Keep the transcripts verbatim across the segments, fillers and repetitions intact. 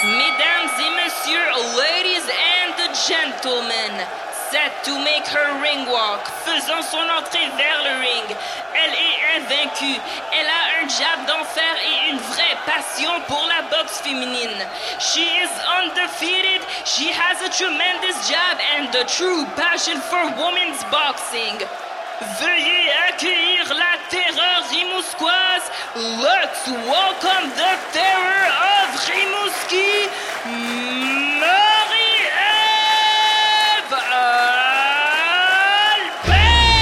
Mesdames et messieurs, ladies and gentlemen, set to make her ring walk, faisant son entrée vers le ring. Elle est invaincue, elle a un jab d'enfer et une vraie passion pour la boxe féminine. She is undefeated, she has a tremendous jab and a true passion for women's boxing. Veuillez accueillir la terreur rimouskoise. Let's welcome the terror of Rimouski, Marie-Ève Albert!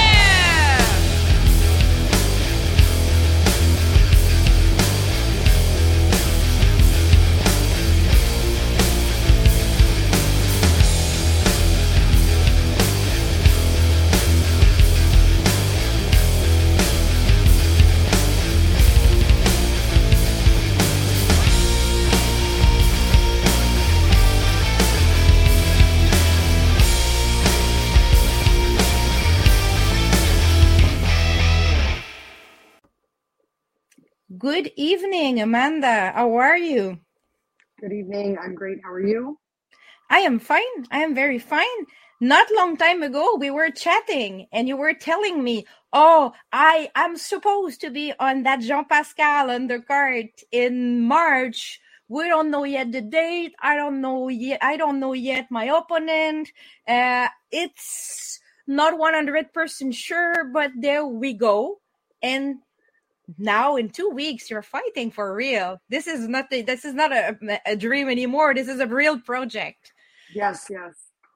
Good evening, Amanda. How are you? Good evening. I'm great. How are you? I am fine. I am very fine. Not long time ago, we were chatting and you were telling me, oh, I am supposed to be on that Jean Pascal undercard in March. We don't know yet the date. I don't know yet. I don't know yet my opponent. Uh, it's not one hundred percent sure, but there we go. And now in two weeks you're fighting for real. This is not a, this is not a, a dream anymore. This is a real project. Yes, yes.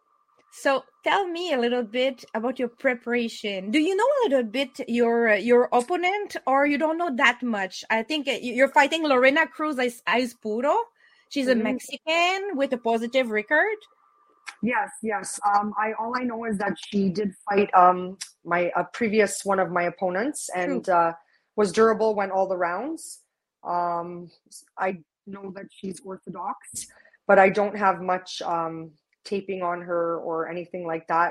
So tell me a little bit about your preparation. Do you know a little bit your your opponent, or you don't know that much? I think you're fighting Lorena Cruz Aispuro. She's Mm-hmm. a Mexican with a positive record. Yes, yes. Um, I all I know is that she did fight um my a previous one of my opponents and uh, was durable, went all the rounds. Um, I know that she's orthodox, but I don't have much um taping on her or anything like that.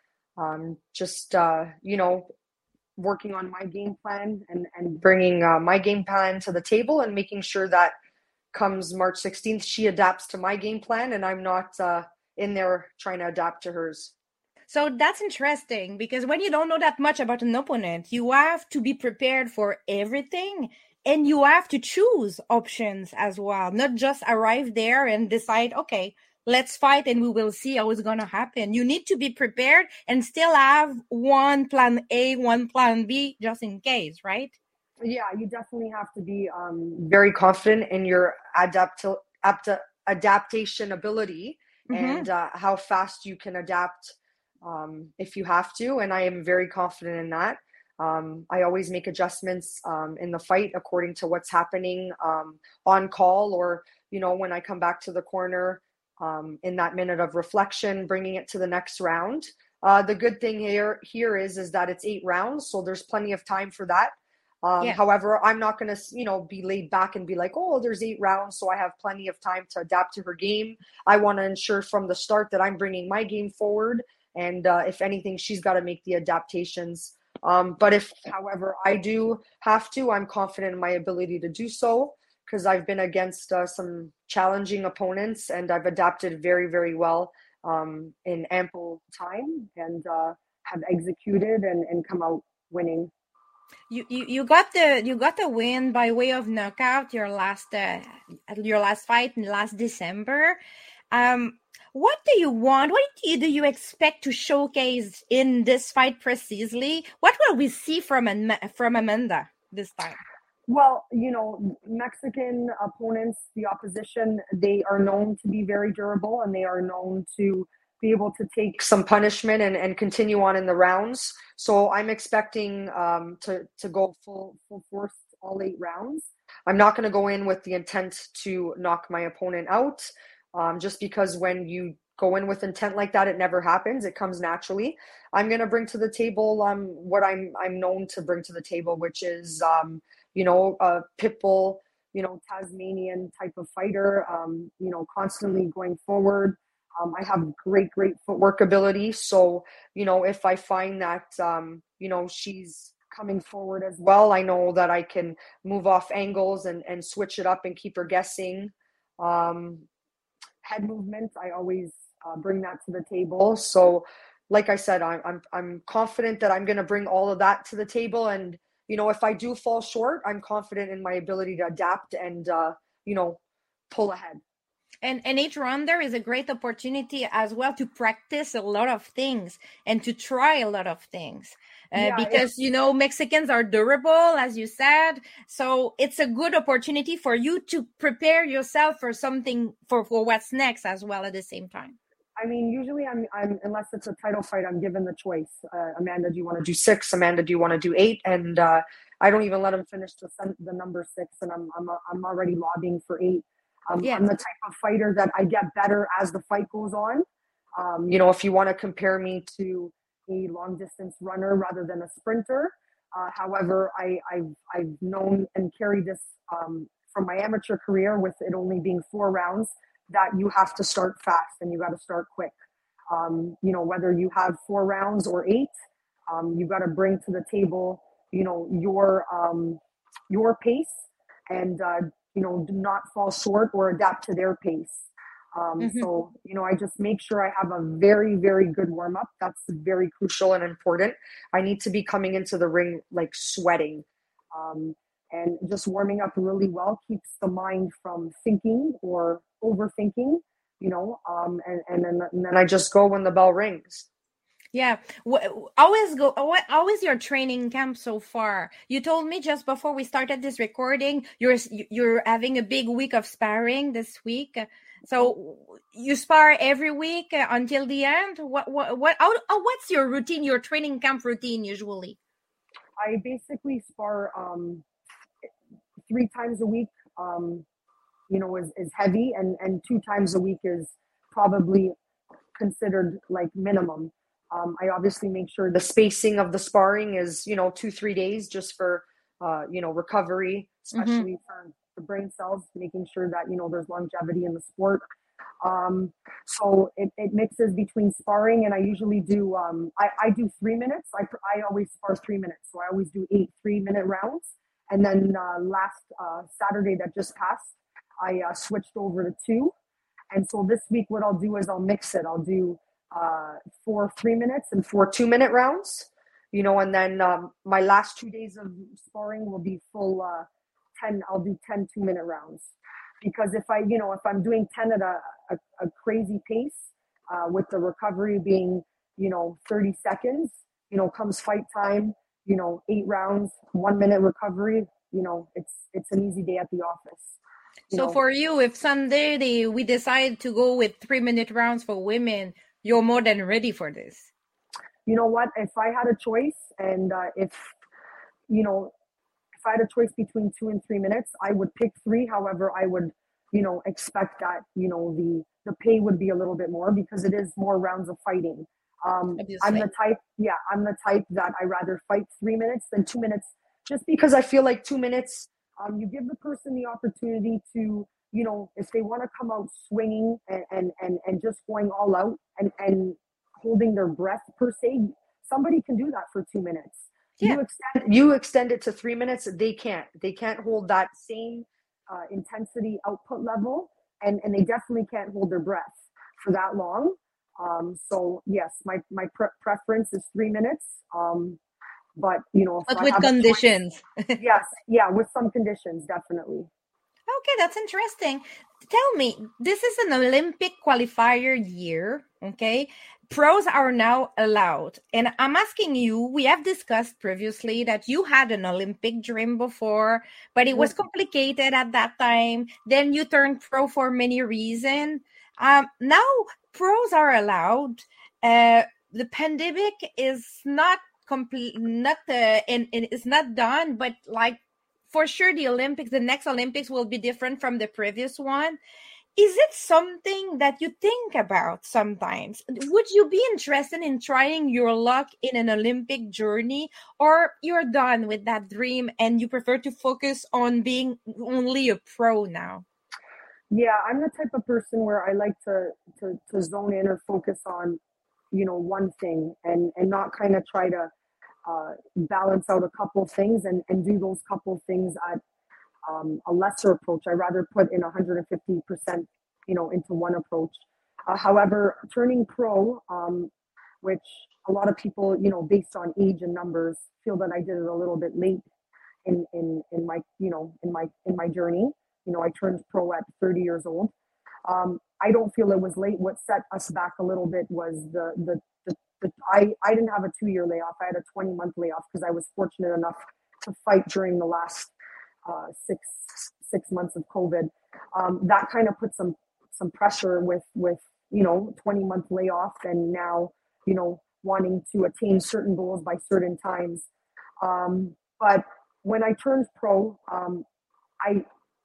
Um, just uh, you know, working on my game plan and and bringing uh, my game plan to the table and making sure that comes March sixteenth, she adapts to my game plan and I'm not uh, in there trying to adapt to hers. So that's interesting because when you don't know that much about an opponent, you have to be prepared for everything and you have to choose options as well, not just arrive there and decide, okay, let's fight and we will see how it's going to happen. You need to be prepared and still have one plan A, one plan B, just in case, right? Yeah, you definitely have to be um, very confident in your adapt- adapt- adaptation ability mm-hmm. and uh, how fast you can adapt um, if you have to. And I am very confident in that. Um, I always make adjustments um, in the fight according to what's happening um, on call, or, you know, when I come back to the corner um, in that minute of reflection, bringing it to the next round. Uh, the good thing here here is, is that it's eight rounds, so there's plenty of time for that. Um, yeah. However, I'm not going to, you know, be laid back and be like, oh, there's eight rounds, so I have plenty of time to adapt to her game. I want to ensure from the start that I'm bringing my game forward. And uh, if anything, she's got to make the adaptations. Um, but if, however, I do have to, I'm confident in my ability to do so because I've been against uh, some challenging opponents and I've adapted very, very well um, in ample time and uh, have executed and, and come out winning. You, you you got the you got the win by way of knockout your last uh, your last fight in last December. Um, what do you want? What do you, do you expect to showcase in this fight precisely? What will we see from from Amanda this time? Well, you know, Mexican opponents, the opposition, they are known to be very durable and they are known to be able to take some punishment and, and continue on in the rounds. So I'm expecting um, to, to go full full force all eight rounds. I'm not going to go in with the intent to knock my opponent out, um, just because when you go in with intent like that, it never happens. It comes naturally. I'm going to bring to the table um, what I'm I'm known to bring to the table, which is, um, you know, a pit bull, you know, Tasmanian type of fighter, um, you know, constantly going forward. Um, I have great, great footwork ability. So, you know, if I find that, um, you know, she's coming forward as well, I know that I can move off angles and, and switch it up and keep her guessing. Um, head movement, I always uh, bring that to the table. So, like I said, I'm I'm I'm confident that I'm going to bring all of that to the table. And you know, if I do fall short, I'm confident in my ability to adapt and uh, you know, pull ahead. And and each round there is a great opportunity as well to practice a lot of things and to try a lot of things. Uh, Yeah, because you know Mexicans are durable, as you said, so it's a good opportunity for you to prepare yourself for something for, for what's next as well at the same time. I mean, usually I'm, I'm unless it's a title fight, I'm given the choice. Uh, Amanda, do you want to do six? Amanda, do you want to do eight? And uh, I don't even let them finish the the number six, and I'm I'm I'm already lobbying for eight. Um, Yeah. I'm the type of fighter that I get better as the fight goes on. Um, you know, if you want to compare me to a long distance runner rather than a sprinter, uh, however, I, I've I've known and carried this um, from my amateur career with it only being four rounds, that you have to start fast and you got to start quick. Um, you know, whether you have four rounds or eight, um, you got to bring to the table, you know, your um, your pace, and uh, you know, do not fall short or adapt to their pace. Um, Mhm. So, you know, I just make sure I have a very, very good warm up. That's very crucial and important. I need to be coming into the ring like sweating. Um, and just warming up really well keeps the mind from thinking or overthinking, you know, um, and, and, then, and then I just go when the bell rings. Yeah. Wh- Always go. What? How is your training camp so far? You told me just before we started this recording, you're s- you're having a big week of sparring this week. So you spar every week uh, until the end. What? What? What? How, how, what's your routine? Your training camp routine usually? I basically spar um, three times a week, um, you know, is, is heavy, and, and two times a week is probably considered like minimum. Um, I obviously make sure the spacing of the sparring is, you know, two, three days just for, uh, you know, recovery, Mm-hmm. especially for the brain cells, making sure that, you know, there's longevity in the sport. Um, so it, it mixes between sparring, and I usually do, um, I, I do three minutes. I, I always spar three minutes. So I always do eight three minute rounds. And then uh, last uh, Saturday that just passed, I uh, switched over to two. And so this week, what I'll do is I'll mix it. I'll do uh, four three minutes and four two minute rounds, you know, and then um, my last two days of sparring will be full uh, ten. I'll do ten two minute rounds, because if I, you know, if I'm doing ten at a, a, a crazy pace uh, with the recovery being, you know, thirty seconds, you know, comes fight time, you know, eight rounds, one minute recovery, you know, it's, it's an easy day at the office. You So know, for you, if someday they, we decide to go with three minute rounds for women, you're more than ready for this. You know what? If I had a choice, and uh, if, you know, if I had a choice between two and three minutes, I would pick three. However, I would, you know, expect that, you know, the the pay would be a little bit more because it is more rounds of fighting. Um, I'm Obviously. the type, yeah, I'm the type that I rather fight three minutes than two minutes, just because I feel like two minutes, um, you give the person the opportunity to, you know, if they want to come out swinging and, and, and, and just going all out and, and holding their breath per se, somebody can do that for two minutes. Yeah. You extend you extend it to three minutes. They can't. They can't hold that same uh, intensity output level, and and they definitely can't hold their breath for that long. Um, so yes, my my pre- preference is three minutes. Um, but you know, if But I with have a choice, conditions. yes, yeah, with some conditions, definitely. Okay, that's interesting. Tell me, this is an Olympic qualifier year, okay? Pros are now allowed. And I'm asking you, we have discussed previously that you had an Olympic dream before, but it was complicated at that time. Then you turned pro for many reasons. Um, now pros are allowed. Uh, the pandemic is not complete, not uh, and, and it's not done, but like for sure the Olympics, the next Olympics will be different from the previous one. Is it something that you think about sometimes? Would you be interested in trying your luck in an Olympic journey, or you're done with that dream and you prefer to focus on being only a pro now? Yeah, I'm the type of person where I like to to, to zone in or focus on, you know, one thing, and and not kind of try to uh, balance out a couple things and, and do those couple things at um, a lesser approach. I rather put in one hundred fifty percent you know, into one approach. Uh, however, turning pro, um, which a lot of people, you know, based on age and numbers, feel that I did it a little bit late in in in my, you know, in my in my journey. You know, I turned pro at thirty years old. Um, I don't feel it was late. What set us back a little bit was the the, the, the I, I didn't have a two year layoff. I had a twenty month layoff because I was fortunate enough to fight during the last uh, six six months of COVID. Um, that kind of put some some pressure with with you know twenty month layoff, and now you know wanting to attain certain goals by certain times. Um, but when I turned pro, um, I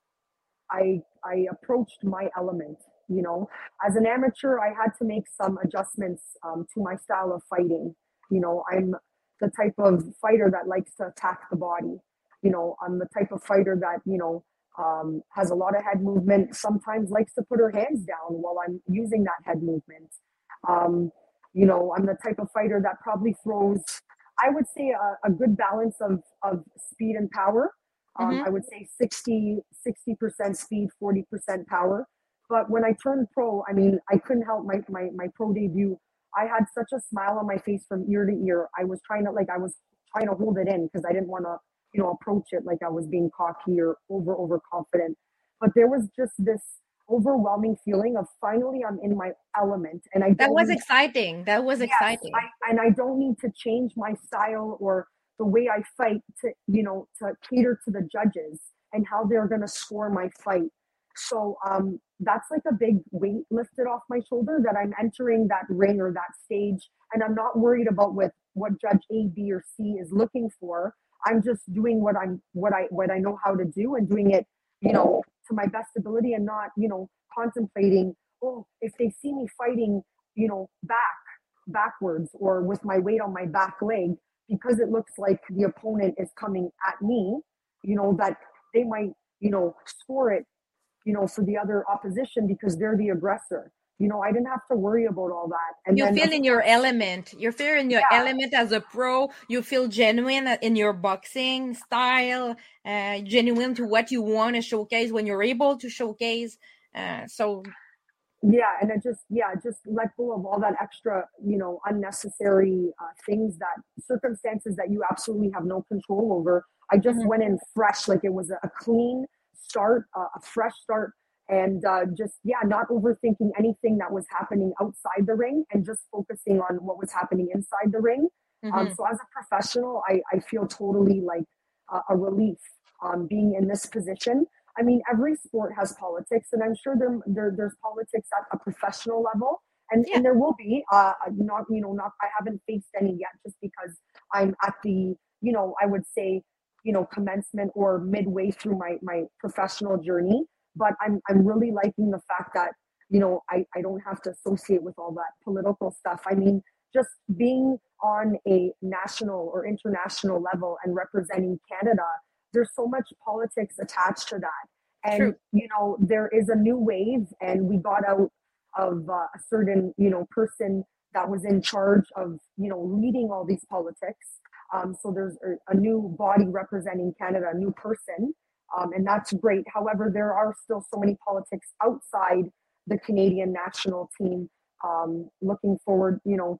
I I approached my element. You know, as an amateur, I had to make some adjustments um, to my style of fighting. You know, I'm the type of fighter that likes to attack the body. You know, I'm the type of fighter that you know um, has a lot of head movement. Sometimes likes to put her hands down while I'm using that head movement. Um, you know, I'm the type of fighter that probably throws, I would say, a, a good balance of of speed and power. Um, mm-hmm. I would say sixty percent speed, forty percent power. But when I turned pro, I mean, I couldn't help my, my, my pro debut. I had such a smile on my face from ear to ear. I was trying to, like, I was trying to hold it in because I didn't want to, you know, approach it like I was being cocky or over, overconfident. But there was just this overwhelming feeling of finally I'm in my element. And I That was need, exciting. That was yes, exciting. I, and I don't need to change my style or the way I fight to, you know, to cater to the judges and how they're going to score my fight. So um, that's like a big weight lifted off my shoulder that I'm entering that ring or that stage. And I'm not worried about what, what judge A, B, or C is looking for. I'm just doing what I'm, what I, what I know how to do and doing it, you know, to my best ability and not, you know, contemplating, oh, if they see me fighting, you know, back, backwards or with my weight on my back leg, because it looks like the opponent is coming at me, you know, that they might, you know, score it, you know, for the other opposition because they're the aggressor. You know, I didn't have to worry about all that. And you then, feel in your element. You feel in your yeah. element as a pro. You feel genuine in your boxing style, uh, genuine to what you want to showcase when you're able to showcase. Uh, so yeah, and it just, yeah, just let go of all that extra, you know, unnecessary uh, things, that circumstances that you absolutely have no control over. I just mm-hmm. went in fresh, like it was a clean start, uh, a fresh start, and uh, just, yeah, not overthinking anything that was happening outside the ring and just focusing on what was happening inside the ring. Mm-hmm. Um, so as a professional, I, I feel totally like uh, a relief um, being in this position. I mean, every sport has politics, and I'm sure there, there there's politics at a professional level, and, yeah. and there will be. Uh, not you know, not I haven't faced any yet, just because I'm at the, you know, I would say, you know, commencement or midway through my my professional journey. But I'm I'm really liking the fact that, you know, I I don't have to associate with all that political stuff. I mean, just being on a national or international level and representing Canada, there's so much politics attached to that. And, True. you know, there is a new wave, and we got out of uh, a certain, you know, person that was in charge of, you know, leading all these politics. Um, so there's a, a new body representing Canada, a new person, um, and that's great. However, there are still so many politics outside the Canadian national team, um, looking forward, you know,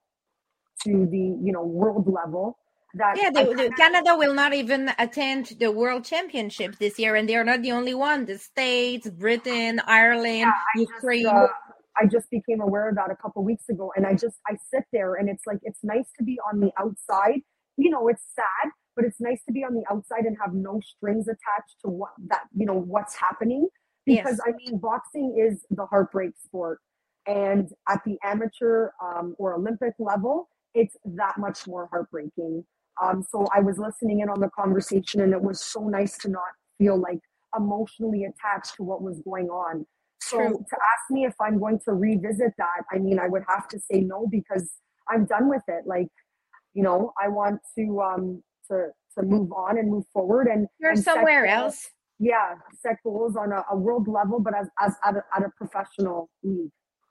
to the, you know, world level. That yeah, the, the, Canada will not even attend the World Championships this year, and they are not the only one. The States, Britain, Ireland, yeah, I Ukraine. Just, uh, I just became aware of that a couple of weeks ago, and I just I sit there, and it's like it's nice to be on the outside. You know, it's sad, but it's nice to be on the outside and have no strings attached to what that you know what's happening. Because yes. I mean, boxing is the heartbreak sport, and at the amateur um, or Olympic level, it's that much more heartbreaking. Um, so I was listening in on the conversation, and it was so nice to not feel like emotionally attached to what was going on. So True. To ask me if I'm going to revisit that, I mean, I would have to say no, because I'm done with it. Like, you know, I want to um, to to move on and move forward. And you're and somewhere goals, else. Yeah, set goals on a, a world level, but as as at a, at a professional league.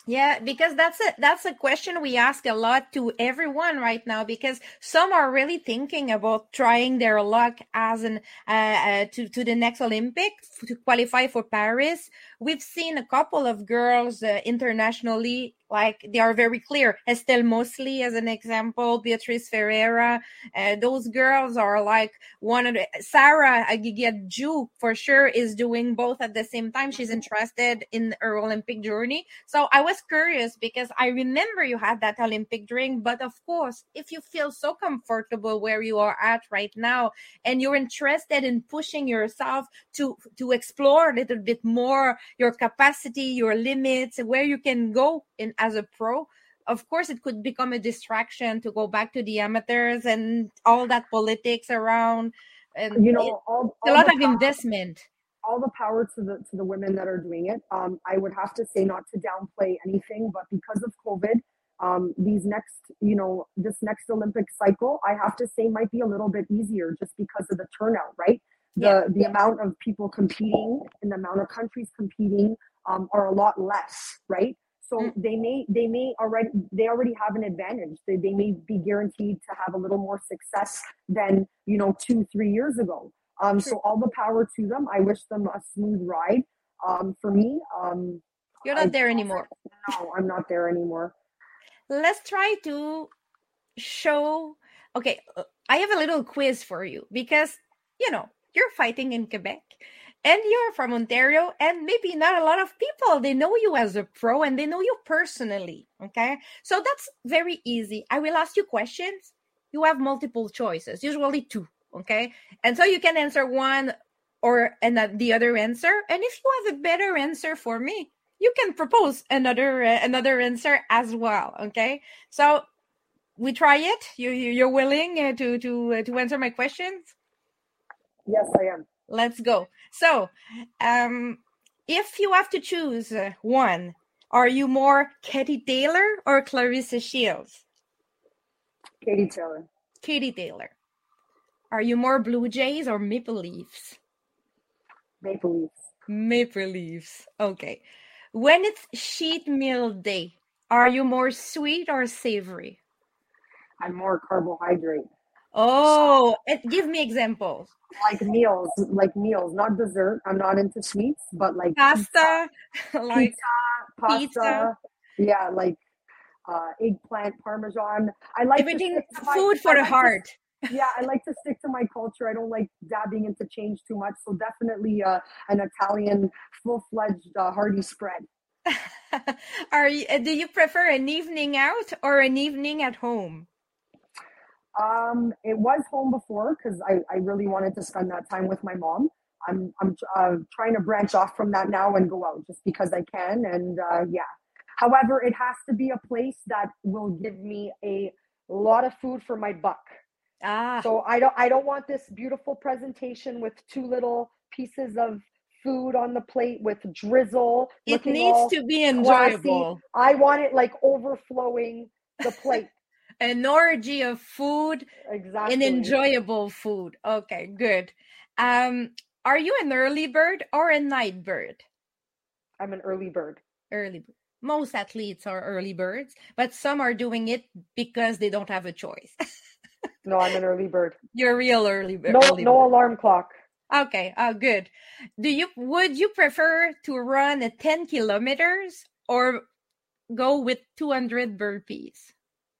Yeah, because that's a that's a question we ask a lot to everyone right now, because some are really thinking about trying their luck as an uh, uh, to to the next Olympics to qualify for Paris. We've seen a couple of girls uh, internationally, like they are very clear. Estelle Mosley, as an example, Beatrice Ferreira. Uh, those girls are like one of the, Sarah Agigedju for sure is doing both at the same time. She's interested in her Olympic journey. So I was curious because I remember you had that Olympic dream, but of course, if you feel so comfortable where you are at right now and you're interested in pushing yourself to to explore a little bit more your capacity, your limits, where you can go in as a pro, of course it could become a distraction to go back to the amateurs and all that politics around, and You it, know, all, a all lot the of power, investment. all the power to the to the women that are doing it. Um, I would have to say not to downplay anything, but because of COVID, um, these next, you know, this next Olympic cycle, I have to say might be a little bit easier just because of the turnout, right? The Yeah. the amount of people competing and the amount of countries competing um, are a lot less, right? So Mm. they may they may already they already have an advantage. They they may be guaranteed to have a little more success than, you know, two three years ago. Um, True. so all the power to them. I wish them a smooth ride. Um, for me, um, You're I not there anymore. no, I'm not there anymore. Let's try to show. Okay, uh, I have a little quiz for you because, you know, you're fighting in Quebec and you're from Ontario, and maybe not a lot of people, they know you as a pro and they know you personally. Okay, so that's very easy. I will ask you questions. You have multiple choices, usually two. Okay, and so you can answer one or and the other answer, and if you have a better answer for me, you can propose another uh, another answer as well. Okay, so we try it. You, you you're willing uh, to to uh, to answer my questions? Yes, I am. Let's go. So, um, if you have to choose uh, one, are you more Katie Taylor or Clarissa Shields? Katie Taylor. Katie Taylor. Are you more Blue Jays or Maple Leafs? Maple Leafs. Maple Leafs. Okay. When it's sheet meal day, are you more sweet or savory? I'm more carbohydrate. Oh, and give me examples. Like meals, like meals, not dessert. I'm not into sweets, but like Pasta, pizza, like pizza, pasta. pizza. Yeah, like uh, eggplant parmesan. I like Everything, to stick to my, food for I the like heart. To, yeah, I like to stick to my culture. I don't like dabbing into change too much. So definitely uh, an Italian full-fledged uh, hearty spread. Are you, uh, do you prefer an evening out or an evening at home? Um, it was home before because I, I really wanted to spend that time with my mom. I'm I'm uh, trying to branch off from that now and go out just because I can. And uh, yeah, however, it has to be a place that will give me a lot of food for my buck. Ah, So I don't I don't want this beautiful presentation with two little pieces of food on the plate with drizzle it looking needs all to be classy. enjoyable. I want it like overflowing the plate. An orgy of food, Exactly. an enjoyable food. Okay, good. Um, are you an early bird or a night bird? I'm an early bird. Early bird. Most athletes are early birds, but some are doing it because they don't have a choice. No, I'm an early bird. You're a real early bird. No, early no bird. alarm clock. Okay, uh, good. Do you would you prefer to run a ten kilometers or go with two hundred burpees?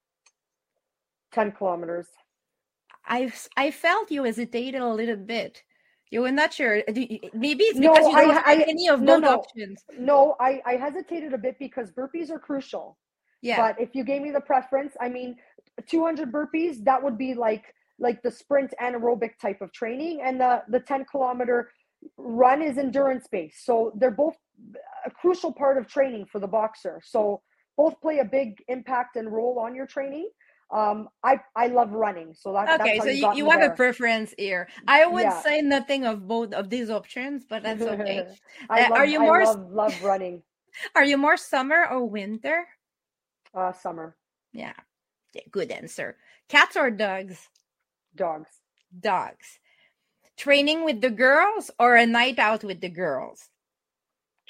ten kilometers. I I felt you hesitated a little bit. You were not sure. Maybe it's No, because you don't I, have I any of no, both no, options. no. I, I hesitated a bit because burpees are crucial. Yeah. But if you gave me the preference, I mean, two hundred burpees, that would be like like the sprint anaerobic type of training, and the the ten kilometer run is endurance based. So they're both a crucial part of training for the boxer. So both play a big impact and role on your training. Um, I I love running, so that, that's Okay, how so you you, got you me have a there. preference here. I would Yeah. say nothing of both of these options, but that's okay. I Uh, love are you I more love love running. are you more summer or winter? Uh, summer. Yeah, yeah, good answer. Cats or dogs? Dogs. Dogs. Training with the girls or a night out with the girls?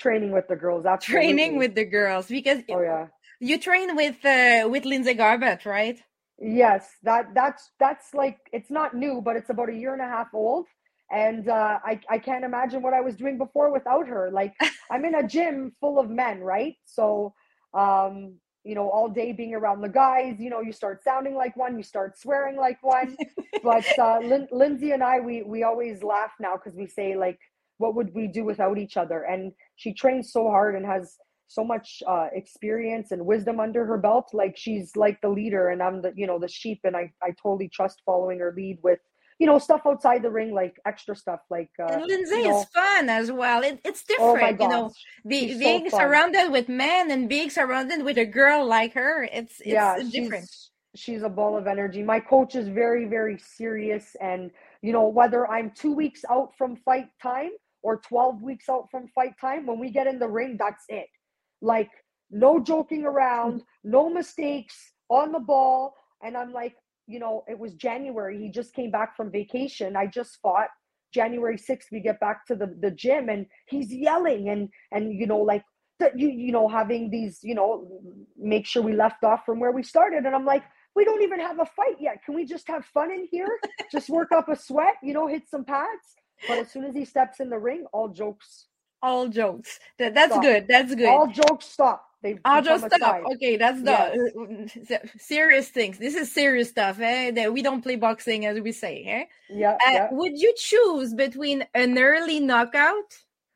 Training with the girls, absolutely. Training with the girls, because oh yeah, you train with uh, with Lindsay Garbutt, right? Yes, that that's that's like, it's not new, but it's about a year and a half old, and uh, I I can't imagine what I was doing before without her. Like, I'm in a gym full of men, right? So, um, you know, all day being around the guys, you know, you start sounding like one, you start swearing like one. But uh, Lin- Lindsay and I, we we always laugh now because we say, like, what would we do without each other? And she trains so hard and has so much uh, experience and wisdom under her belt. Like, she's like the leader, and I'm the, you know, the sheep, and I, I totally trust following her lead with, you know, stuff outside the ring, like extra stuff, like, uh, And Lindsay you is know, fun as well. It, it's oh my different, you know, gosh, be, she's so being fun. surrounded with men and being surrounded with a girl like her. It's Yeah, it's different. she's she's a ball of energy. My coach is very, very serious, and you know, whether I'm two weeks out from fight time or twelve weeks out from fight time, when we get in the ring, that's it. Like, no joking around, no mistakes, on the ball. And I'm like, you know, it was January. He just came back from vacation. I just fought. January sixth, we get back to the, the gym, and he's yelling and and you know, like, that you you know, having these, you know, make sure we left off from where we started. And I'm like, we don't even have a fight yet. Can we just have fun in here? Just work up a sweat, you know, hit some pads. But as soon as he steps in the ring, all jokes All jokes. That, that's stop. good. That's good. All jokes stop. They I'll become just stop. aside. Okay, that's Yes. the uh, serious things. This is serious stuff. Eh? That we don't play boxing, as we say. Eh? Yeah, Uh, yeah. would you choose between an early knockout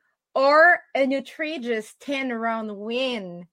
or an outrageous ten round win?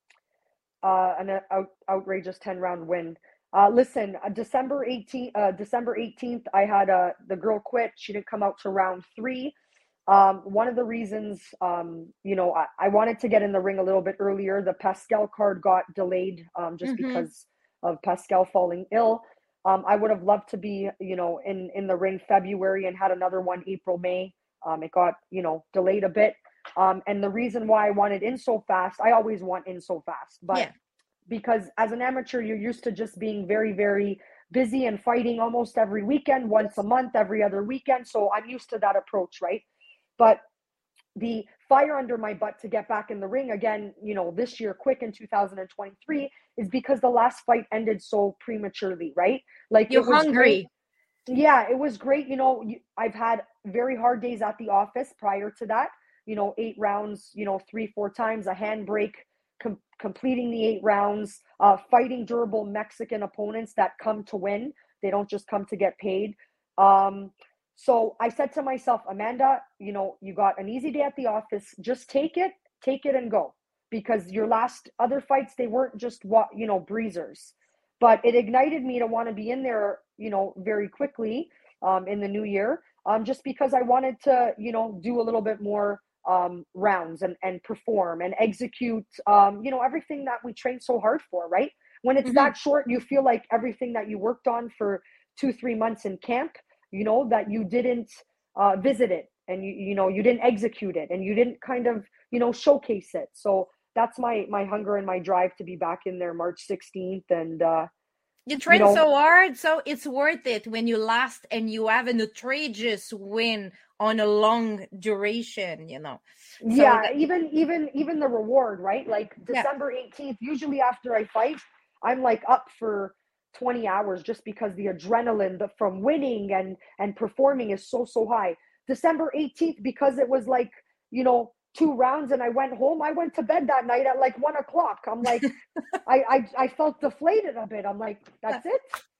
Uh, an uh, out, outrageous ten round win. Uh, listen, uh, December eighteenth, uh, December eighteenth, I had uh, the girl quit. She didn't come out to round three. Um, one of the reasons, um, you know, I, I wanted to get in the ring a little bit earlier. The Pascal card got delayed um, just Mm-hmm. because of Pascal falling ill. Um, I would have loved to be, you know, in, in the ring February and had another one April, May. Um, it got, you know, delayed a bit. Um, and the reason why I wanted in so fast, I always want in so fast, but Yeah. because as an amateur, you're used to just being very, very busy and fighting almost every weekend, once a month, every other weekend. So I'm used to that approach, right? But the fire under my butt to get back in the ring again, you know, this year, quick in two thousand twenty-three, is because the last fight ended so prematurely, right? Like, You're it was hungry. great. Yeah, it was great. You know, I've had very hard days at the office prior to that, you know, eight rounds, you know, three, four times, a handbrake, com- completing the eight rounds, uh, fighting durable Mexican opponents that come to win. They don't just come to get paid. Um, so I said to myself, Amanda, you know, you got an easy day at the office. Just take it, take it and go. Because your last other fights, they weren't just, what you know, breezers. But it ignited me to want to be in there, you know, very quickly um, in the new year, um, just because I wanted to, you know, do a little bit more um, rounds and, and perform and execute, um, you know, everything that we train so hard for, right? When it's Mm-hmm. that short, you feel like everything that you worked on for two, three months in camp, you know, that you didn't uh, visit it, and you, you know, you didn't execute it, and you didn't kind of, you know, showcase it. So that's my, my hunger and my drive to be back in there March sixteenth. And, uh, You train you know, so hard, so it's worth it when you last and you have an outrageous win on a long duration, you know. So yeah, that, even even even the reward, right? Like yeah. December eighteenth, usually after I fight, I'm like up for twenty hours just because the adrenaline the, from winning and and performing is so so high. December eighteenth, because it was like, you know, two rounds and I went home, I went to bed that night at like one o'clock. I'm like, I, I I felt deflated a bit. I'm like, that's it?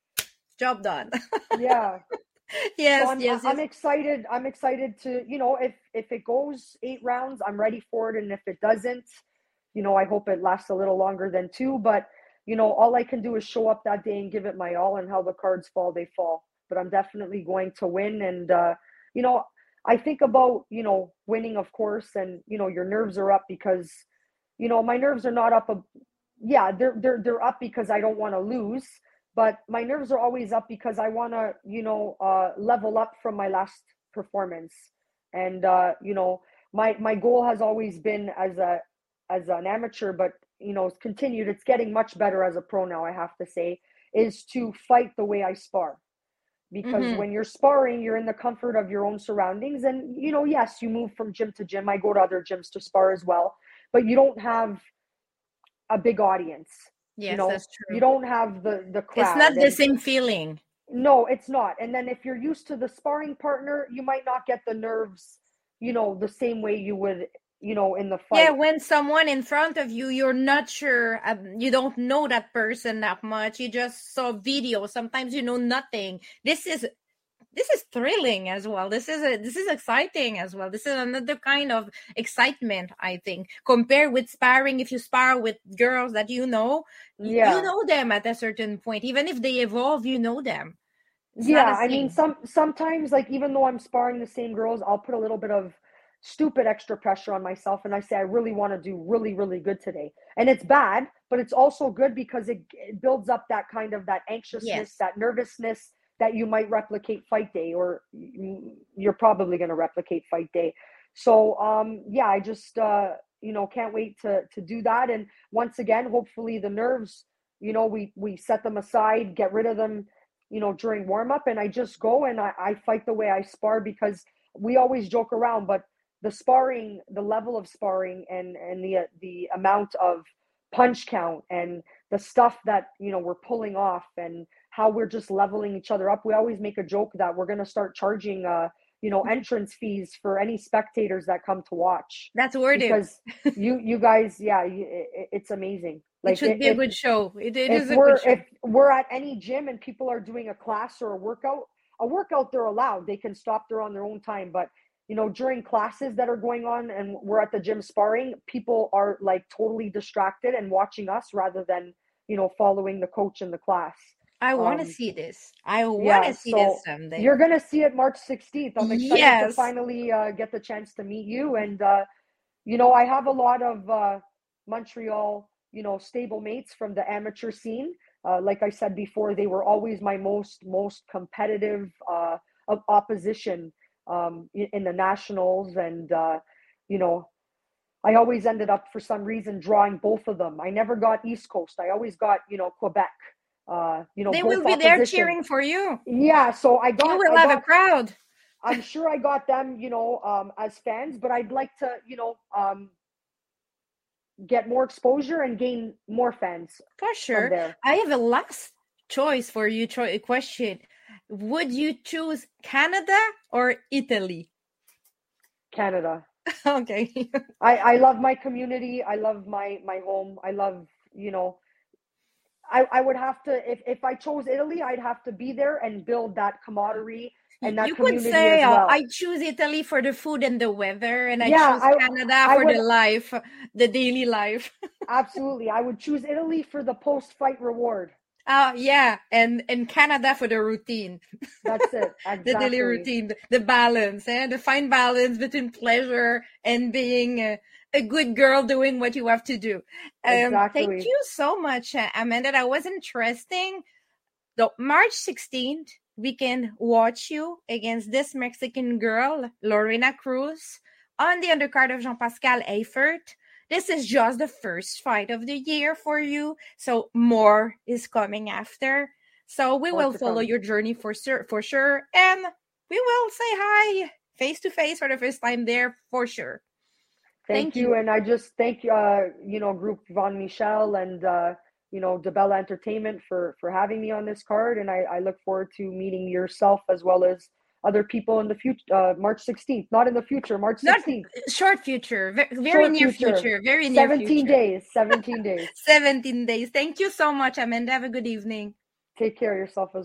Job done. Yeah. Yes, So I'm yes, I'm yes. excited. I'm excited to, you know, if if it goes eight rounds, I'm ready for it. And if it doesn't, you know, I hope it lasts a little longer than two. But, you know, all I can do is show up that day and give it my all, and how the cards fall, they fall. But I'm definitely going to win. And uh, you know, I think about, you know, winning, of course, and you know, your nerves are up because, you know, my nerves are not up. A, yeah, they're they're they're up because I don't want to lose, but my nerves are always up because I want to, you know, uh, level up from my last performance. And, uh, you know, my, my goal has always been as a, as an amateur, but, you know, it's continued. It's getting much better as a pro now, I have to say, is to fight the way I spar. because Mhm. when you're sparring, you're in the comfort of your own surroundings. And, you know, yes, you move from gym to gym. I go to other gyms to spar as well, but you don't have a big audience. You Yes, know, that's you true. don't have the the It's not crowd. the And same feeling. no, it's not. And then if you're used to the sparring partner, you might not get the nerves, you know, the same way you would, you know, in the Yeah, fight. when someone in front of you, you're not sure, um, you don't know that person that much. You just saw video. Sometimes you know nothing. This is this is thrilling as well. This is a, this is exciting as well. This is another kind of excitement, I think, compared with sparring. If you spar with girls that you know, y- you Yeah. know them at a certain point. Even if they evolve, you know them. It's not Yeah, the I mean, same. some sometimes, like, even though I'm sparring the same girls, I'll put a little bit of stupid extra pressure on myself, and I say I really want to do really, really good today. And it's bad, but it's also good because it, it builds up that kind of that anxiousness, Yes. that nervousness that you might replicate fight day, or y- you're probably going to replicate fight day. So, um, yeah, I just uh, you know, can't wait to to do that. And once again, hopefully the nerves, you know, we we set them aside, get rid of them, you know, during warm up, and I just go and I, I fight the way I spar, because we always joke around, but the sparring, the level of sparring, and and the the amount of punch count and the stuff that, you know, we're pulling off, and how we're just leveling each other up. We always make a joke that we're going to start charging uh you know, entrance fees for any spectators that come to watch, That's worth it. because you you guys, yeah, you, it, it's amazing. It Like, should be a if good show. It, it if is a good we're show. if we're at any gym and people are doing a class or a workout, a workout they're allowed, they can stop there on their own time. But, you know, during classes that are going on and we're at the gym sparring, people are like totally distracted and watching us rather than, you know, following the coach in the class. I want to Um, see this. I want yeah, to see this so someday. you're gonna see it March sixteenth. I'm excited to Yes. finally uh, get the chance to meet you. And uh, you know, I have a lot of uh, Montreal, you know, stable mates from the amateur scene. Uh, like I said before, they were always my most most competitive uh, of opposition um, in, in the nationals, and uh, you know, I always ended up for some reason drawing both of them. I never got East Coast. I always got, you know, Quebec. Uh, you know, They both will be there opposition. cheering for you. Yeah, so I You got will I have a got crowd. I'm sure I got them, you know, um, as fans, but I'd like to, you know, um, get more exposure and gain more fans For from sure. there. I have a last choice for you, cho- question. Would you choose Canada or Italy? Canada. Okay. I, I love my community. I love my, my home. I love, you know, I, I would have to, if, if I chose Italy, I'd have to be there and build that camaraderie and that You could community say, as uh, well. I choose Italy for the food and the weather, and I Yeah, choose I, Canada I for would the life, the daily life. absolutely, I would choose Italy for the post-fight reward. Uh, yeah, and, and Canada for the routine. That's it. The daily Exactly. routine, the, the balance, eh? The fine balance between pleasure and being a, a good girl doing what you have to do. Um, thank Exactly. you so much, uh, Amanda. That was interesting. So March sixteenth, we can watch you against this Mexican girl, Lorena Cruz, on the undercard of Jean-Pascal Eifert. This is just the first fight of the year for you, so more is coming after. So we More will to follow come. your journey for sure, for sure, and we will say hi face to face for the first time there for sure. Thank, Thank you. you. And I just thank, uh, you know, Group Von Michel and, uh, you know, DeBella Entertainment for, for having me on this card. And I, I look forward to meeting yourself as well as other people in the future, uh, March sixteenth, not in the future, March Not sixteenth. short future, ve- very Short near future. future, very near seventeen future. days, seventeen days. seventeen days. Thank you so much, Amanda. Have a good evening. Take care of yourself as